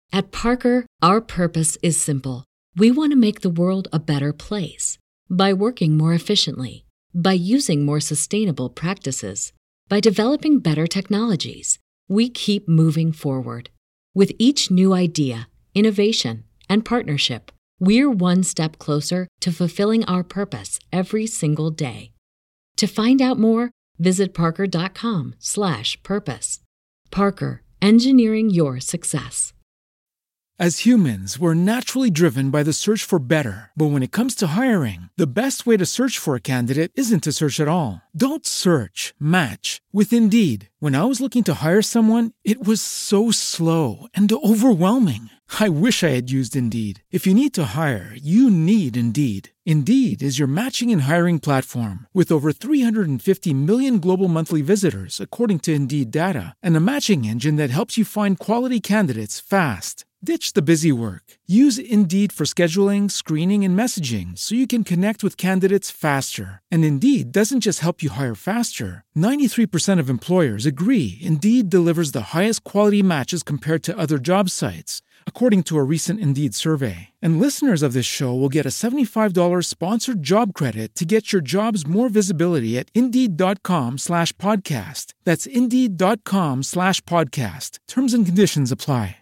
At Parker, our purpose is simple. We want to make the world a better place by working more efficiently, by using more sustainable practices, by developing better technologies. We keep moving forward. With each new idea, innovation, and partnership, we're one step closer to fulfilling our purpose every single day. To find out more, visit parker.com/purpose. Parker, engineering your success. As humans, we're naturally driven by the search for better. But when it comes to hiring, the best way to search for a candidate isn't to search at all. Don't search, match with Indeed. When I was looking to hire someone, it was so slow and overwhelming. I wish I had used Indeed. If you need to hire, you need Indeed. Indeed is your matching and hiring platform with over 350 million global monthly visitors, according to Indeed data, and a matching engine that helps you find quality candidates fast. Ditch the busy work. Use Indeed for scheduling, screening, and messaging so you can connect with candidates faster. And Indeed doesn't just help you hire faster. 93% of employers agree Indeed delivers the highest quality matches compared to other job sites, according to a recent Indeed survey. And listeners of this show will get a $75 sponsored job credit to get your jobs more visibility at Indeed.com/podcast. That's Indeed.com/podcast. Terms and conditions apply.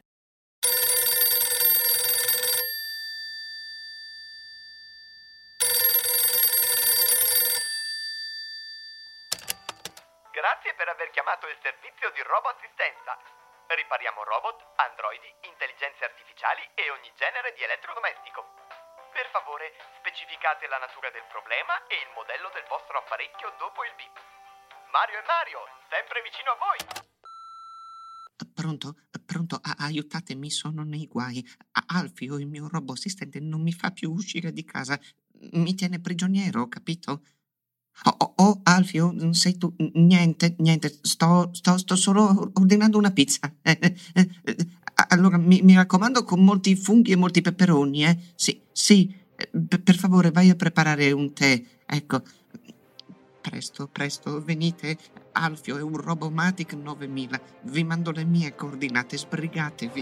Grazie per aver chiamato il servizio di RoboAssistenza. Ripariamo robot, androidi, intelligenze artificiali e ogni genere di elettrodomestico. Per favore, specificate la natura del problema e il modello del vostro apparecchio dopo il beep. Mario e Mario, sempre vicino a voi. Pronto? Pronto? Aiutatemi, sono nei guai. Alfio, il mio robot assistente, non mi fa più uscire di casa. Mi tiene prigioniero, capito? Alfio, sei tu? Niente, sto solo ordinando una pizza. Allora, mi raccomando, con molti funghi e molti peperoni, eh? Sì, per favore, vai a preparare un tè, ecco. Presto, venite. Alfio è un Robomatic 9000. Vi mando le mie coordinate, sbrigatevi.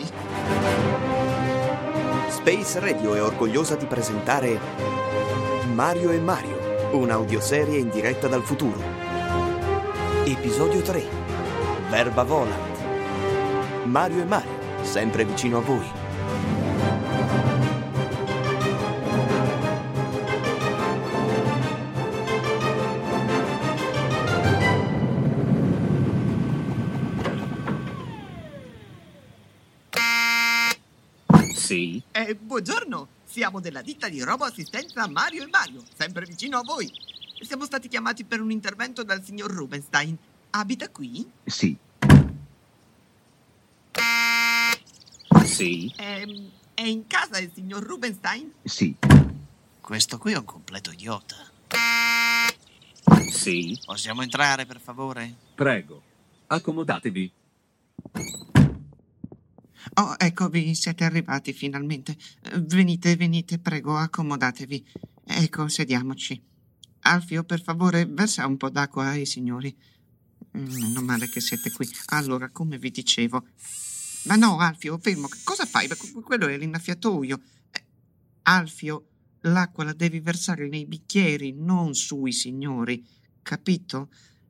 Space Radio è orgogliosa di presentare Mario e Mario, un'audioserie in diretta dal futuro. Episodio 3. Verba Volant. Mario e Mario, sempre vicino a voi. Sì? Buongiorno, siamo della ditta di RoboAssistenza Mario e Mario, sempre vicino a voi. Siamo stati chiamati per un intervento dal signor Rubenstein. Abita qui? Sì. Sì? È in casa il signor Rubenstein? Sì. Questo qui è un completo idiota. Sì? Possiamo entrare, per favore? Prego, accomodatevi. Oh, eccovi, siete arrivati finalmente. Venite, prego, accomodatevi. Ecco, sediamoci. Alfio, per favore, versa un po' d'acqua ai signori. Meno male che siete qui. Allora, come vi dicevo... Ma no, Alfio, fermo. Cosa fai? Quello è l'innaffiatoio. Alfio, l'acqua la devi versare nei bicchieri, non sui signori. Capito?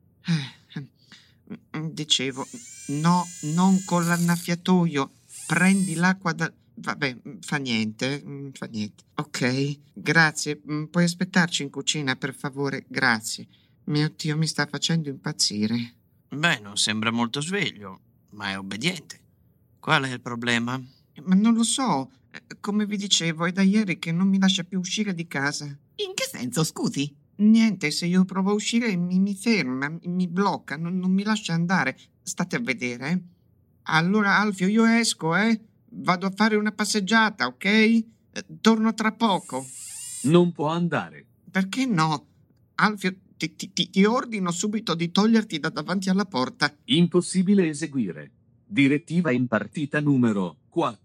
Dicevo, no, non con l'annaffiatoio. Prendi l'acqua da... Vabbè, fa niente. Ok, grazie. Puoi aspettarci in cucina, per favore? Grazie. Mio Dio, mi sta facendo impazzire. Beh, non sembra molto sveglio, ma è obbediente. Qual è il problema? Ma non lo so. Come vi dicevo, è da ieri che non mi lascia più uscire di casa. In che senso, scusi? Niente, se io provo a uscire mi ferma, mi blocca, non mi lascia andare. State a vedere, eh? Allora, Alfio, io esco, Vado a fare una passeggiata, ok? Torno tra poco. Non può andare. Perché no? Alfio, ti ordino subito di toglierti da davanti alla porta. Impossibile eseguire. Direttiva impartita numero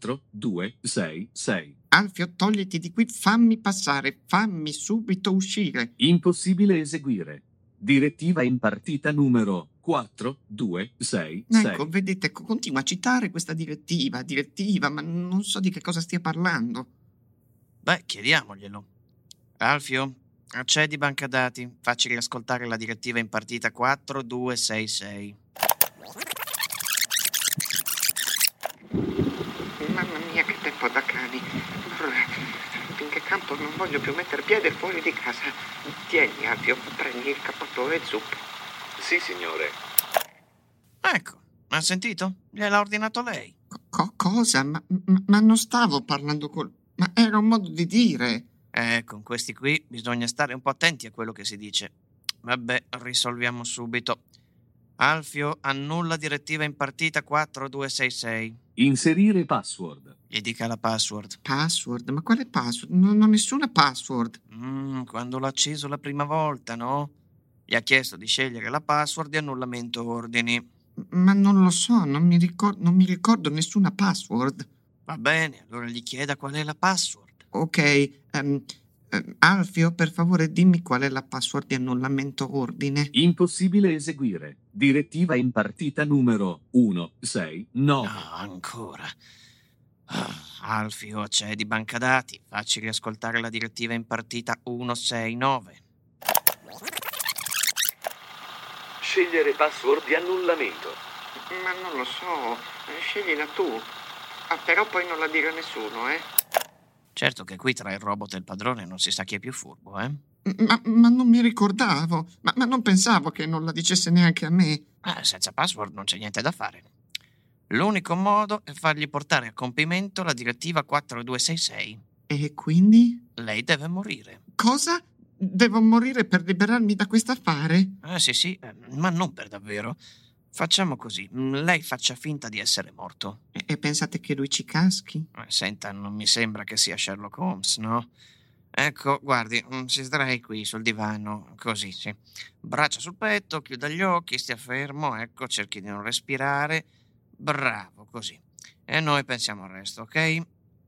4266. Alfio, togliti di qui, fammi passare, fammi subito uscire. Impossibile eseguire. Direttiva impartita numero 4, 2, 6, Ecco, 6. vedete, continua a citare questa direttiva, ma non so di che cosa stia parlando. Beh, chiediamoglielo. Alfio, accedi banca dati. Facci riascoltare la direttiva impartita 4266. Mamma mia, che tempo da cani. Finché campo non voglio più mettere piede fuori di casa. Tieni, Alfio, prendi il cappotto e zuppo. Sì, signore. Ecco, ha sentito? Gliel'ha ordinato lei. Cosa? Ma non stavo parlando Ma era un modo di dire. Con questi qui bisogna stare un po' attenti a quello che si dice. Vabbè, risolviamo subito. Alfio, annulla direttiva impartita 4266. Inserire password. Gli dica la password. Password? Ma quale password? Non ho nessuna password. Quando l'ho acceso la prima volta, no? Gli ha chiesto di scegliere la password di annullamento ordini. Ma non lo so, non mi ricordo nessuna password. Va bene, allora gli chieda qual è la password. Ok, Alfio, per favore dimmi qual è la password di annullamento ordine. Impossibile eseguire. Direttiva impartita numero 169. No, ancora. Alfio, c'è di banca dati. Facci riascoltare la direttiva impartita 169. Scegliere password di annullamento. Ma non lo so, sceglila tu. Però poi non la dire a nessuno, Certo che qui tra il robot e il padrone non si sa chi è più furbo, eh? Ma non mi ricordavo, ma non pensavo che non la dicesse neanche a me. Senza password non c'è niente da fare. L'unico modo è fargli portare a compimento la direttiva 4266. E quindi? Lei deve morire. Cosa? Devo morire per liberarmi da quest'affare? Sì, ma non per davvero. Facciamo così, lei faccia finta di essere morto. E pensate che lui ci caschi? Senta, non mi sembra che sia Sherlock Holmes, no? Ecco, guardi, si sdrai qui sul divano, così, sì. Braccia sul petto, chiuda gli occhi, stia fermo, ecco, cerchi di non respirare. Bravo, così. E noi pensiamo al resto, ok?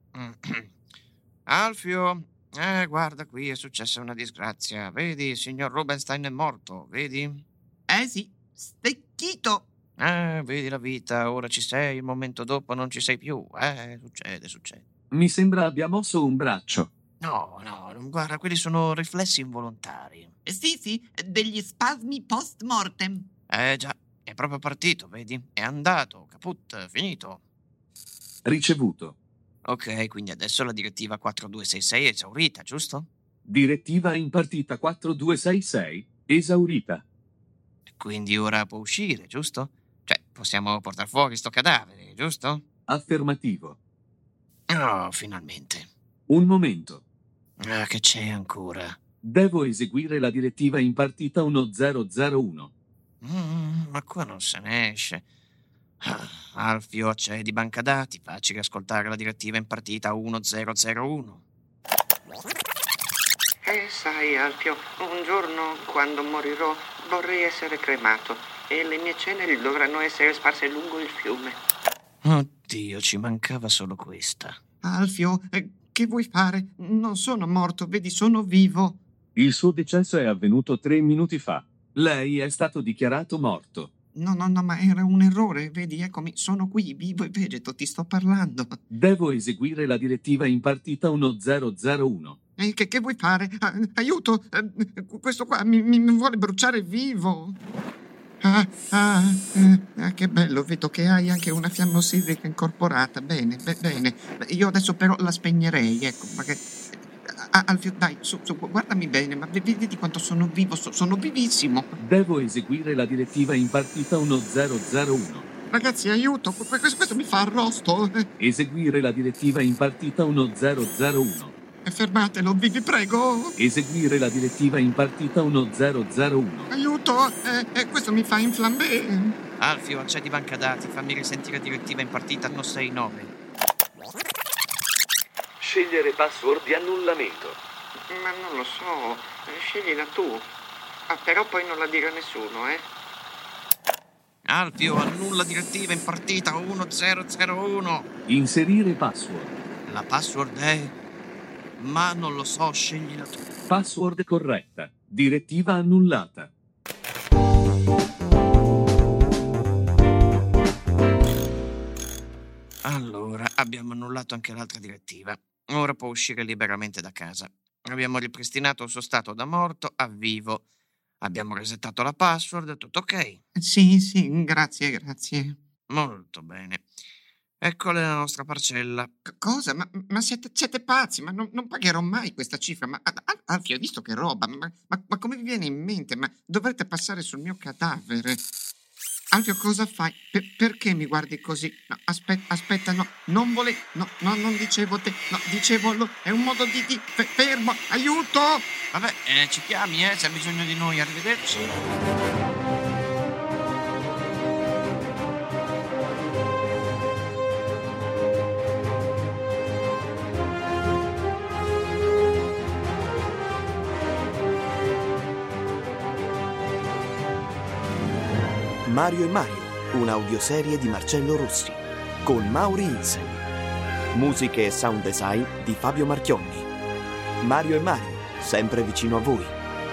Alfio, guarda, qui è successa una disgrazia. Vedi, il signor Rubenstein è morto, vedi? Sì, stecchito. Vedi la vita, ora ci sei, il momento dopo non ci sei più. Succede. Mi sembra abbia mosso un braccio. No, guarda, quelli sono riflessi involontari. Sì, degli spasmi post mortem. Già, è proprio partito, vedi? È andato, caput, finito. Ricevuto. Ok, quindi adesso la direttiva 4266 è esaurita, giusto? Direttiva impartita 4266 esaurita. Quindi ora può uscire, giusto? Cioè, possiamo portare fuori sto cadavere, giusto? Affermativo. Oh, finalmente. Un momento. Che c'è ancora? Devo eseguire la direttiva impartita 1001. Ma qua non se ne esce. Alfio, c'è di banca dati. Facci riascoltare la direttiva impartita 1001. Sai, Alfio, un giorno, quando morirò, vorrei essere cremato e le mie ceneri dovranno essere sparse lungo il fiume. Oddio, ci mancava solo questa. Alfio, che vuoi fare? Non sono morto, vedi, sono vivo. Il suo decesso è avvenuto 3 minuti fa. Lei è stato dichiarato morto. No, ma era un errore, vedi, eccomi, sono qui, vivo e vegeto, ti sto parlando. Devo eseguire la direttiva impartita 1001. Che vuoi fare? Aiuto! Questo qua mi vuole bruciare vivo. Che bello, vedo che hai anche una fiamma ossidrica incorporata. Bene. Io adesso però la spegnerei, ecco, perché... Alfio, dai, su, guardami bene, ma vedi quanto sono vivo, sono vivissimo. Devo eseguire la direttiva impartita 1001. Ragazzi, aiuto, questo mi fa arrosto. Eseguire la direttiva impartita 1001. Fermatelo, vi prego. Eseguire la direttiva impartita 1001. Aiuto, questo mi fa inflammare. Alfio, accedi banca dati, fammi risentire direttiva impartita 169. Scegliere password di annullamento. Ma non lo so, sceglila tu. Però poi non la dire a nessuno, Alfio, annulla direttiva impartita 1001. Inserire password. La password è... Ma non lo so, sceglila tu. Password corretta. Direttiva annullata. Allora, abbiamo annullato anche l'altra direttiva. Ora può uscire liberamente da casa. Abbiamo ripristinato il suo stato da morto a vivo. Abbiamo resettato la password, tutto ok? Sì, grazie. Molto bene. Eccola la nostra parcella. Cosa? Ma siete pazzi? Ma non pagherò mai questa cifra. Ma Alfio, hai visto che roba? Ma come vi viene in mente? Ma dovrete passare sul mio cadavere. Alfio, cosa fai? Perché mi guardi così? No, aspetta, no, non volevo. No, non dicevo te. No, dicevo è un modo di fermo. Aiuto! Vabbè, ci chiami, se hai bisogno di noi. Arrivederci. Mario e Mario, un'audioserie di Marcello Rossi, con Mauri Ilsen. Musiche e sound design di Fabio Marchionni. Mario e Mario, sempre vicino a voi.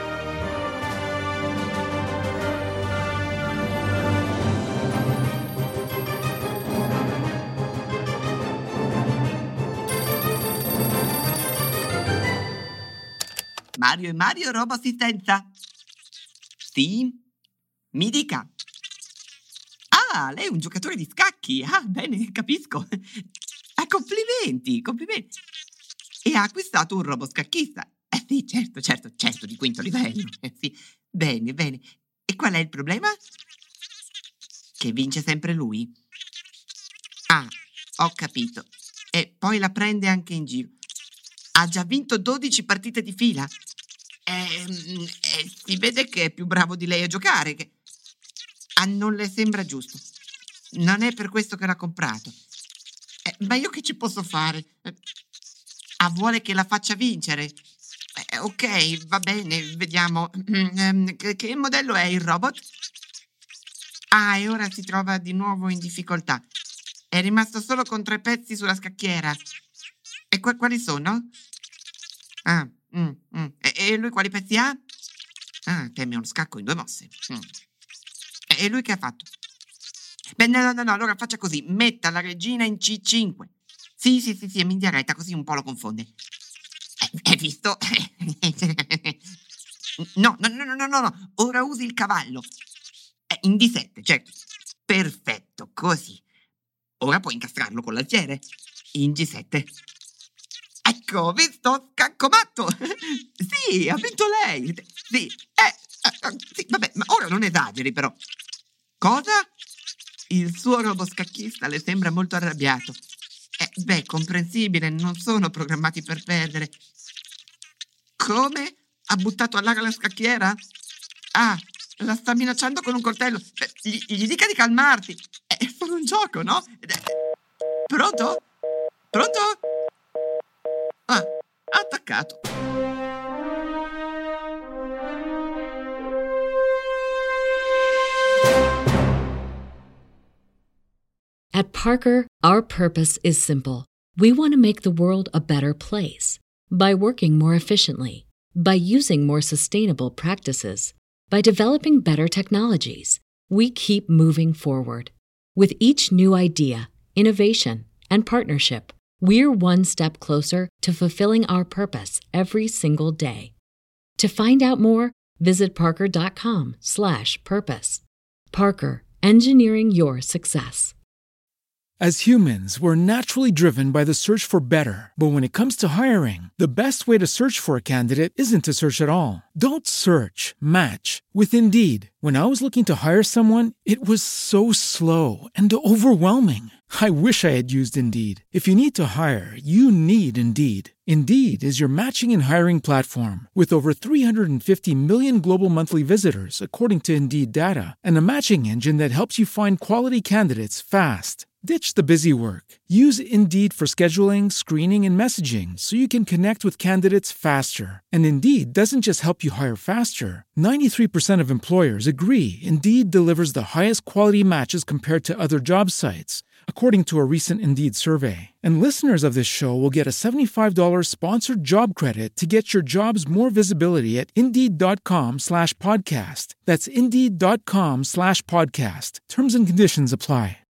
Mario e Mario, robo assistenza. Sì? Mi dica. Ah, lei è un giocatore di scacchi. Ah, bene, capisco. Ah, complimenti. E ha acquistato un robot scacchista. Sì, certo, di quinto livello. Sì, bene. E qual è il problema? Che vince sempre lui. Ah, ho capito. E poi la prende anche in giro. Ha già vinto 12 partite di fila. Si vede che è più bravo di lei a giocare. Non le sembra giusto. Non è per questo che l'ha comprato. Ma io che ci posso fare? Vuole che la faccia vincere? Ok, va bene, vediamo. Che modello è il robot? E ora si trova di nuovo in difficoltà. È rimasto solo con 3 pezzi sulla scacchiera. E quali sono? E lui quali pezzi ha? Teme uno scacco in 2 mosse. E lui che ha fatto? Beh, no, allora faccia così. Metta la regina in C5. Sì, è in diretta, così un po' lo confonde. Hai visto? No. Ora usi il cavallo. In D7, certo. Perfetto, così. Ora puoi incastrarlo con l'alfiere. In G7. Ecco, visto? Scacco matto! Sì, ha vinto lei! Sì, sì, vabbè, ma ora non esageri però. Cosa? Il suo robot scacchista le sembra molto arrabbiato. Comprensibile, non sono programmati per perdere. Come? Ha buttato all'aria la scacchiera? La sta minacciando con un coltello. Gli dica di calmarti. È solo un gioco, no? Pronto? Ha attaccato. At Parker, our purpose is simple. We want to make the world a better place by working more efficiently, by using more sustainable practices, by developing better technologies. We keep moving forward. With each new idea, innovation, and partnership, we're one step closer to fulfilling our purpose every single day. To find out more, visit parker.com/purpose. Parker, engineering your success. As humans, we're naturally driven by the search for better. But when it comes to hiring, the best way to search for a candidate isn't to search at all. Don't search, match with Indeed. When I was looking to hire someone, it was so slow and overwhelming. I wish I had used Indeed. If you need to hire, you need Indeed. Indeed is your matching and hiring platform with over 350 million global monthly visitors, according to Indeed data, and a matching engine that helps you find quality candidates fast. Ditch the busy work. Use Indeed for scheduling, screening, and messaging so you can connect with candidates faster. And Indeed doesn't just help you hire faster. 93% of employers agree Indeed delivers the highest quality matches compared to other job sites, according to a recent Indeed survey. And listeners of this show will get a $75 sponsored job credit to get your jobs more visibility at Indeed.com/podcast. That's Indeed.com/podcast. Terms and conditions apply.